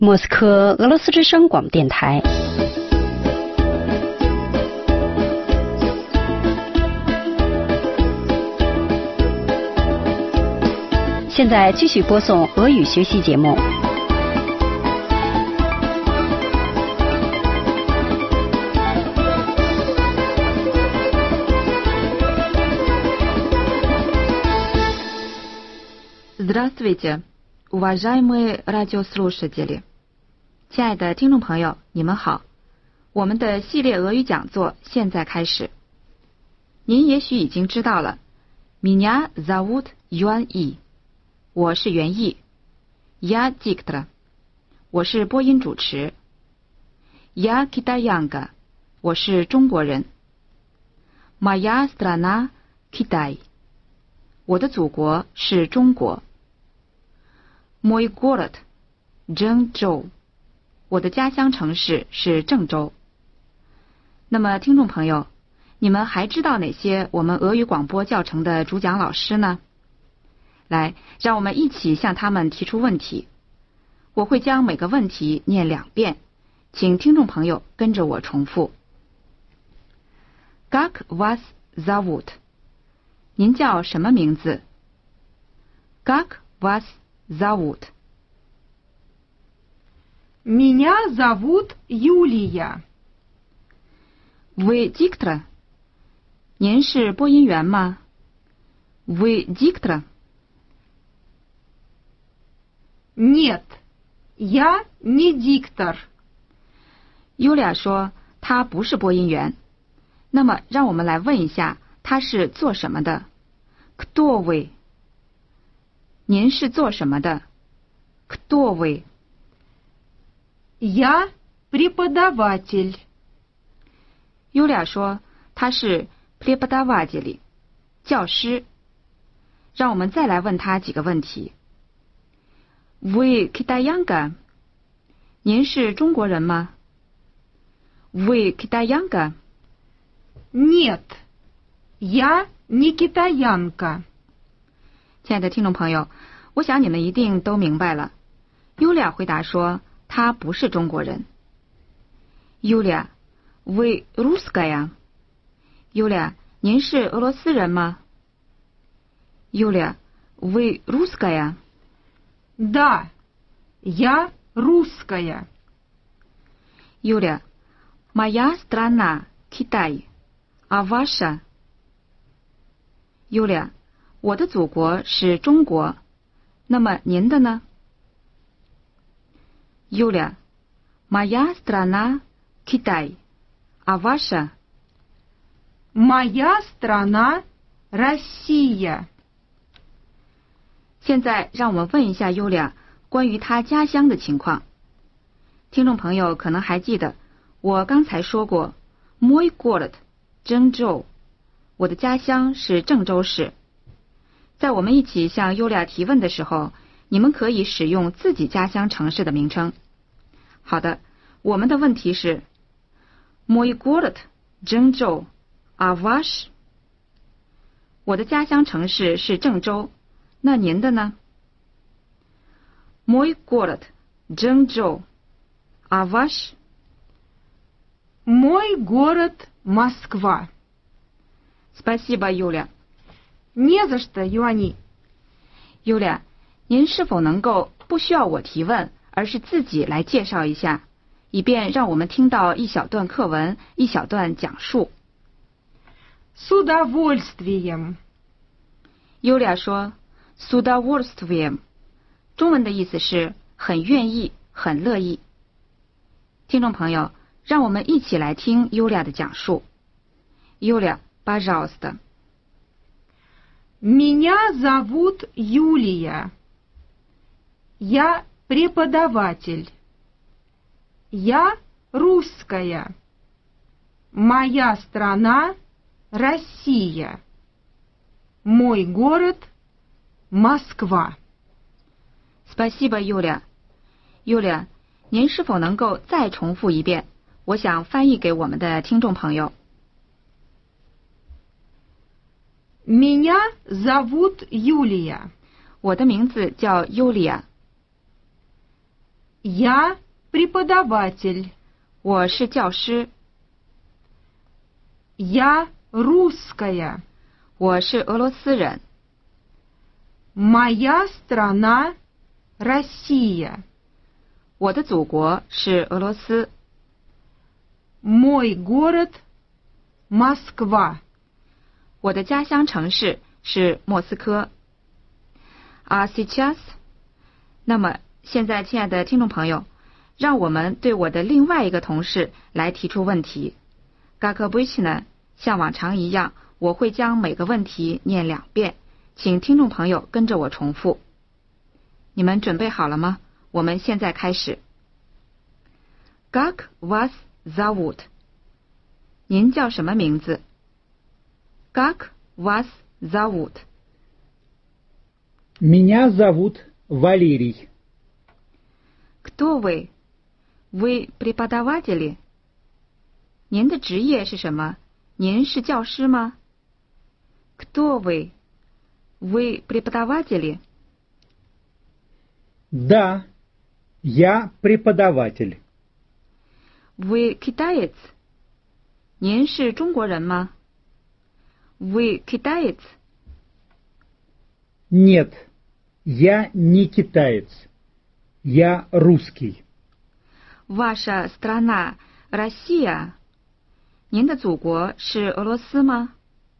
莫斯科俄罗斯之声广播电台。现在继续播送俄语学习节目。 Здравствуйте, уважаемые радиослушатели！ 亲爱的听众朋友，你们好！我们的系列俄语讲座现在开始。您也许已经知道了 ，Меня зовут Yuan Yi， 我是袁毅 ，Я диктор， 我是播音主持 ，Я китаянка， 我是中国人 ，Моя страна Китай， 我的祖国是中国。Мой город Чжэнчжоу， 我的家乡城市是郑州。那么，听众朋友，你们还知道哪些我们俄语广播教程的主讲老师呢？来，让我们一起向他们提出问题。我会将每个问题念2遍，请听众朋友跟着我重复。Как вас зовут？ 您叫什么名字 ？Как вас зовут？ Меня зовут Юлия. Вы диктор？ 您是播音员吗 ？Вы диктор？ Нет, я не диктор. 尤利亚说他不是播音员。那么，让我们来问一下，他是做什么的 ？Кто вы？ 您是做什么的 ？Кто вы？ Я преподаватель. 尤利亚说他是 преподаватель， 教师。让我们再来问他几个问题。Вы китаянка？ 您是中国人吗 ？Вы китаянка？ Нет, я не китаянка. 亲爱的听众朋友，我想你们一定都明白了。尤利亚回答说，他不是中国人。尤利亚 ，Вы русская？ 尤利亚，您是俄罗斯人吗？尤利亚 ，Вы русская？ Да, я русская. 尤利亚 ，Моя страна Китай, а ваша？ 尤利亚，我的祖国是中国，那么您的呢？尤利亚 ，Моя страна Китай, а ваша？ Моя страна Россия. 现在让我们问一下尤利亚关于他家乡的情况。听众朋友可能还记得，我刚才说过 Мой город Чжэнчжоу， 我的家乡是郑州市。在我们一起向尤利亚提问的时候，你们可以使用自己家乡城市的名称。好的，我们的问题是 Мой город Чжэнчжоу, а ваш？ 我的家乡城市是郑州，那您的呢 ？Мой город Чжэнчжоу, а ваш？ Мой город Москва. Спасибо, Юля. Не за что, Юани. Юля， 您是否能够不需要我提问，而是自己来介绍一下，以便让我们听到一小段课文，一小段讲述。 С удовольствием. Юля 说 «С удовольствием», 中文的意思是很愿意、很乐意。听众朋友，让我们一起来听 Юля 的讲述。Юля, пожалуйста. Меня зовут Юлия. Я преподаватель. Я русская. Моя страна Россия. Мой город Москва. Спасибо, Юля. Юля, 您是否能够再重复一遍？我想翻译给我们的听众朋友。 Меня зовут Юлия. 我的名字叫尤利亚。 Я преподаватель. 我是教师。 Я русская. 我是俄罗斯人。 Моя страна Россия. 我的祖国是俄罗斯。 Мой город Москва. 我的家乡城市是莫斯科。А сейчас？ 那么现在，亲爱的听众朋友，让我们对我的另外一个同事来提出问题。Как обычно， 像往常一样，我会将每个问题念2遍，请听众朋友跟着我重复。你们准备好了吗？我们现在开始。Как вас зовут？ 您叫什么名字？ Как вас зовут？ Меня зовут Валерий. Кто вы? Вы преподаватели? 您的职业是什么？您是教师吗？ Кто вы? Вы преподаватели? Да, я преподаватель. Вы китаец? 您是中国人吗？ Вы китаец? Нет, я не китаец. Я русский. Ваша страна Россия? 您的祖国是俄罗斯吗？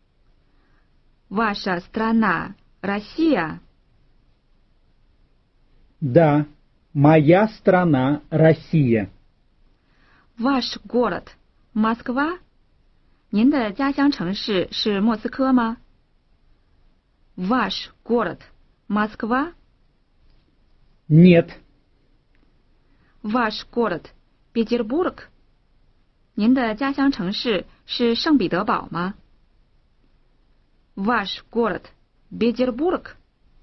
Ваша страна Россия? Да, моя страна Россия. Ваш город Москва? 您的家乡城市是莫斯科吗？ Ваш город Москва? Нет. Ваш город Петербург? 您的家乡城市是圣彼得堡吗？ Ваш город Петербург?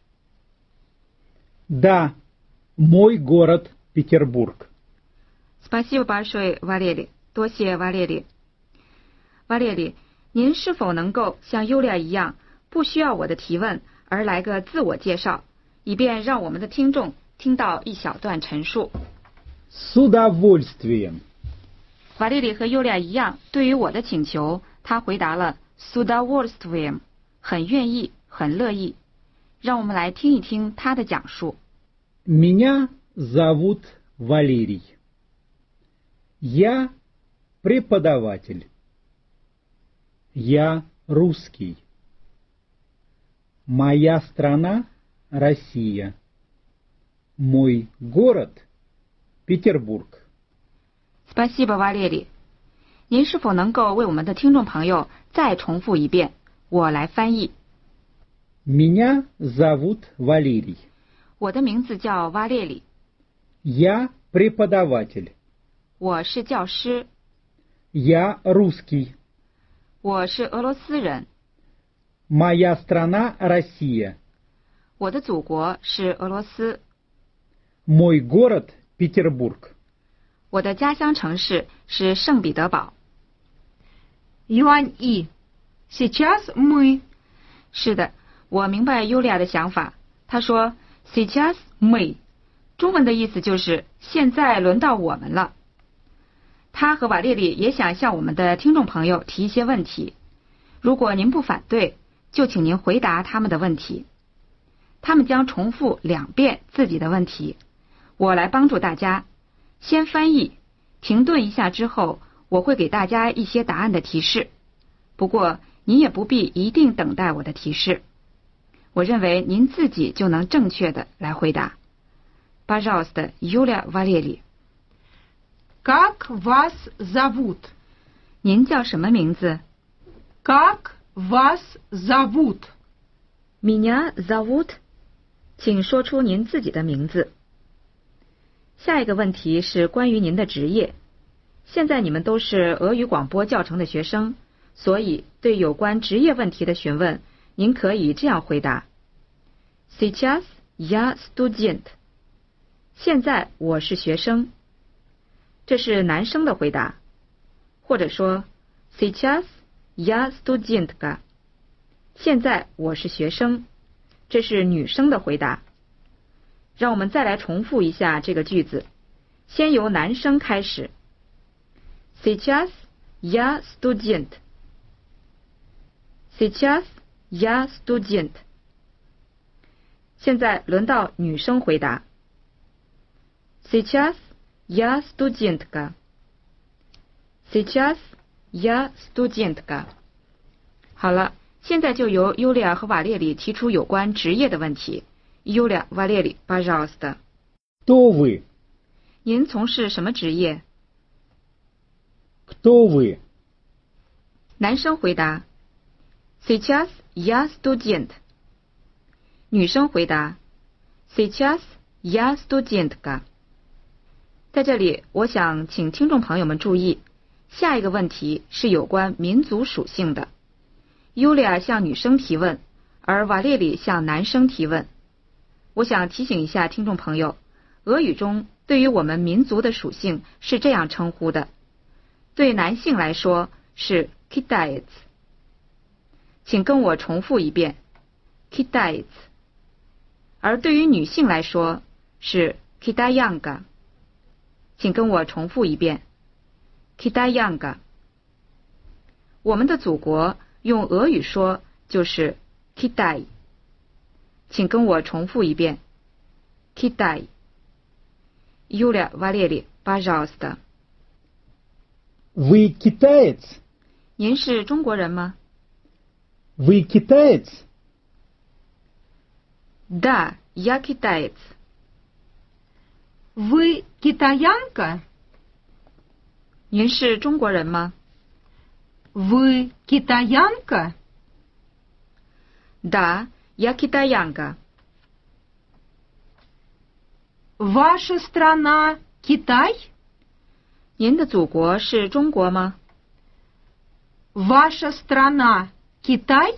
Да, мой город Петербург. Спасибо большое, Валерий. 多谢Валерий。Валерий，您是否能够像优利亚一样，不需要我的提问而来个自我介绍，以便让我们的听众听到一小段陈述？ С удовольствием. 瓦列里和优利亚一样，对于我的请求，他回答了 с удовольствием， 很愿意，很乐意。让我们来听一听他的讲述。 Меня зовут Валерий. Я преподаватель. Я русский. Моя страна Россия. Мой город Петербург. Спасибо, Валерий。您是否能够为我们的听众朋友再重复一遍？我来翻译。 Меня зовут Валерий. 我的名字叫瓦列里。 Я преподаватель. 我是教师。 Я русский. 我是俄罗斯人。 Моя страна Россия. 我的祖国是俄罗斯。 Мой город Петербург. 我的家乡城市是圣彼得堡。 Юань И. Сейчас мы. 是的，我明白优利亚的想法。他说 сейчас мы， 中文的意思就是现在轮到我们了。他和瓦列里也想向我们的听众朋友提一些问题，如果您不反对，就请您回答他们的问题。他们将重复2遍自己的问题，我来帮助大家。先翻译，停顿一下之后，我会给大家一些答案的提示。不过您也不必一定等待我的提示，我认为您自己就能正确的来回答。Пожалуйста, Юлия Валерий. Как вас зовут? 您叫什么名字？ Как вас зовут? Меня зовут. 请说出您自己的名字。下一个问题是关于您的职业。现在你们都是俄语广播教程的学生，所以对有关职业问题的询问，您可以这样回答 ：Сейчас я студент。现在我是学生。这是男生的回答，或者说 Сейчас я студентка。现在我是学生，这是女生的回答。让我们再来重复一下这个句子先由男生开始。Сейчас я студент. Сейчас я студент. 现在轮到女生回答。Сейчас я студентка. Сейчас я студентка. 好了，现在就由尤利亚和瓦列里提出有关职业的问题。尤利亚，瓦列里，пожалуйста. Кто вы? 您从事什么职业？ Кто вы? 男生回答 Сейчас я студент. 女生回答 Сейчас я студентка. 在这里，我想请听众朋友们注意，下一个问题是有关民族属性的。尤利亚向女生提问，而瓦列里向男生提问。我想提醒一下听众朋友，俄语中对于我们民族的属性是这样称呼的。对男性来说是 китаец， 请跟我重复一遍 китаец。而对于女性来说是 китаянка， 请跟我重复一遍 китаянка。我们的祖国用俄语说就是 Китай， 请跟我重复一遍 Китай。Юля, Валерий, пожалуйста. Вы китаец? 您是中国人吗？ Вы китаец? Да, я китаец. Вы китаянка? 您是中国人吗？ Вы китаянка? Да, я китаянка. Ваша страна Китай? 您的祖国是中国吗？ Ваша страна Китай?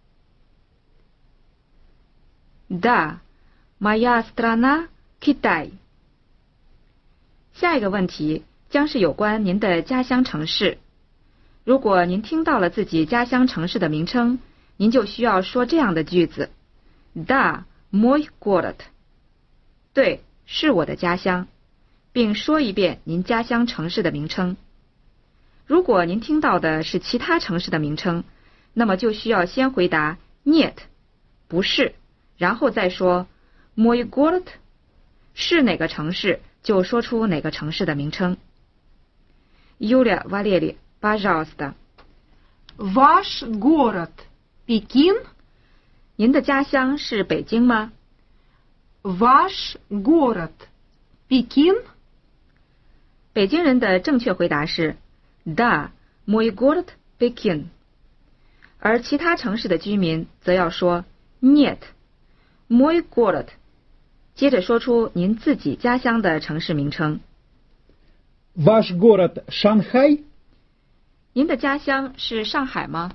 Да, моя страна Китай. 下一个问题将是有关您的家乡城市。如果您听到了自己家乡城市的名称，您就需要说这样的句子 Да, мой город. 对，是我的家乡，并说一遍您家乡城市的名称。如果您听到的是其他城市的名称，那么就需要先回答 Нет， 不是，然后再说 мой город， 是哪个城市就说出哪个城市的名称。Юля, Валерий, пожалуйста. Ваш город Пекин? 您的家乡是北京吗？ Ваш город Пекин? 北京人的正确回答是 Да, мой город Пекин. 而其他城市的居民则要说 Нет, мой город. 接着说出您自己家乡的城市名称。 Ваш город Шанхай? 您的家乡是上海吗？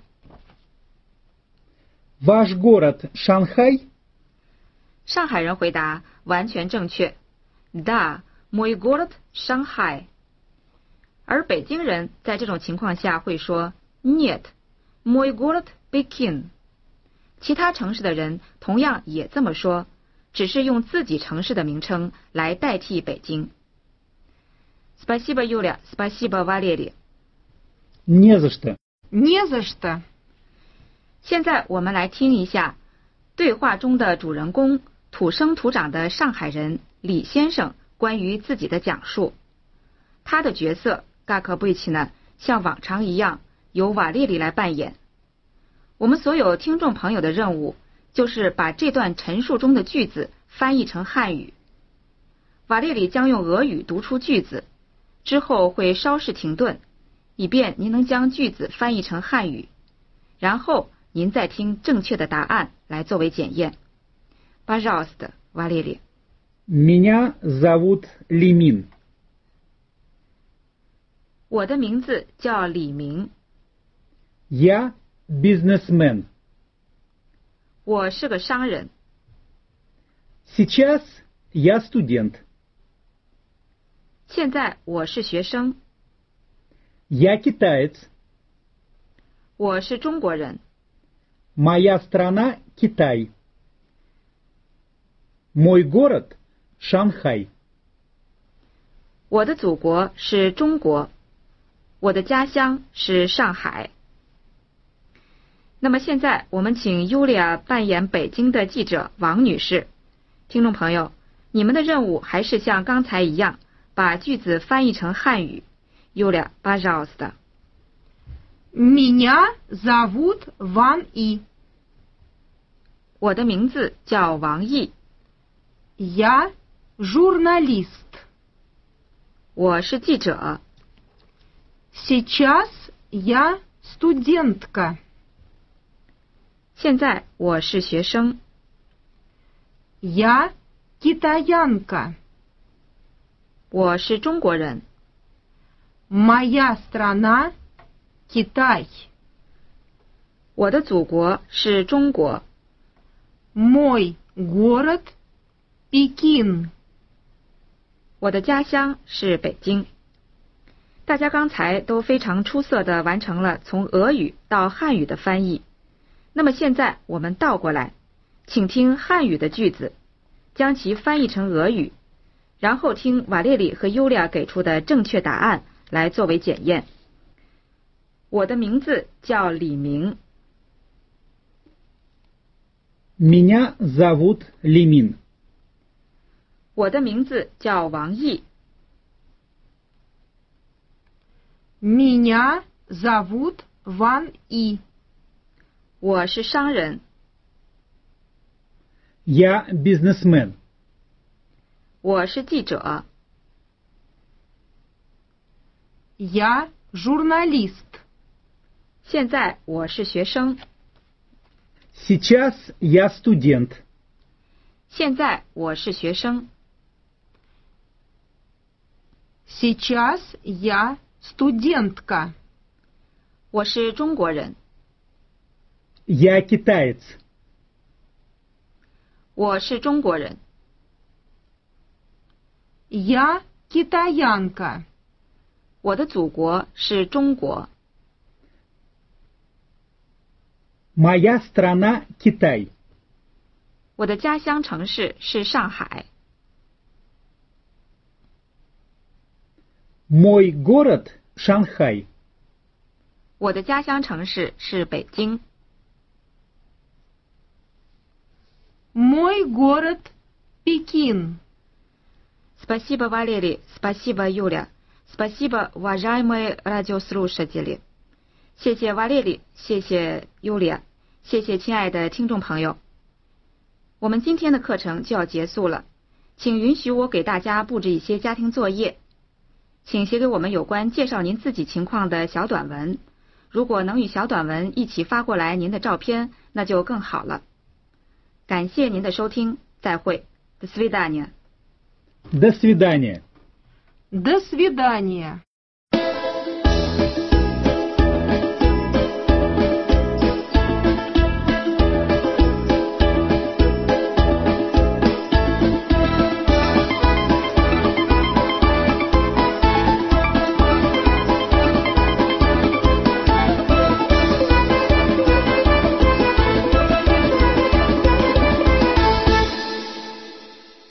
Ваш город Шанхай? 上海人回答完全正确 Да, мой город Шанхай. 而北京人在这种情况下会说 Нет, мой город Пекин. 其他城市的人同样也这么说，只是用自己城市的名称来代替北京。Спасибо, Юля, спасибо, Валерий. Не за что. Не за что. 现在我们来听一下对话中的主人公土生土长的上海人李先生关于自己的讲述。他的角色嘎克贝奇呢，像往常一样由瓦列里来扮演。我们所有听众朋友的任务就是把这段陈述中的句子翻译成汉语。瓦列里将用俄语读出句子，之后会稍事停顿，以便您能将句子翻译成汉语，然后您再听正确的答案来作为检验。Пожалуйста, Валерий. Меня зовут Лимин. 我的名字叫李明， Я бизнесмен. 我是个商人。 Сейчас я студент. 现在我是学生。 Я китаец. 我是中国人。 Моя страна Китай. Мой город Шанхай. 我的祖国是中国，我的家乡是上海。那么现在我们请 Yulia 扮演北京的记者王女士。听众朋友，你们的任务还是像刚才一样，把句子翻译成汉语。Yulia, пожалуйста. Меня зовут Ван И. 我的名字叫王毅， Я журналист. 我是记者。 Сейчас я студентка. 现在我是学生。 Я китаянка. 我是中国人。 Моя страна Китай. 我的祖国是中国。 Мой город Пекин. 我的家乡是北京。大家刚才都非常出色地完成了从俄语到汉语的翻译。那么现在我们倒过来，请听汉语的句子，将其翻译成俄语，然后听瓦列里和尤利亚给出的正确答案来作为检验。我的名字叫李明。 Меня зовут Лимин. 我的名字叫王毅。 Меня зовут Ван И. 我是商人。 Я бизнесмен. 我是记者。 Я журналист. 现在我是学生。 Сейчас я студент. 现在我是学生。 Сейчас я студентка. 我是中国人。 Я китаец. 我是中国人。 Я китаянка. 我的祖国是中国。 Моя страна Китай. 我的家乡城市是上海。 Мой город Шанхай. 我的家乡城市是北京。 Мой город Пекин. Спасибо, Валерий. Спасибо, Юля. Спасибо, уважаемые радиослушатели. 谢谢瓦列里，谢谢尤利亚，谢谢亲爱的听众朋友。我们今天的课程就要结束了，请允许我给大家布置一些家庭作业，请写给我们有关介绍您自己情况的小短文。如果能与小短文一起发过来您的照片，那就更好了。感谢您的收听，再会。До свидания. До свидания. До свидания.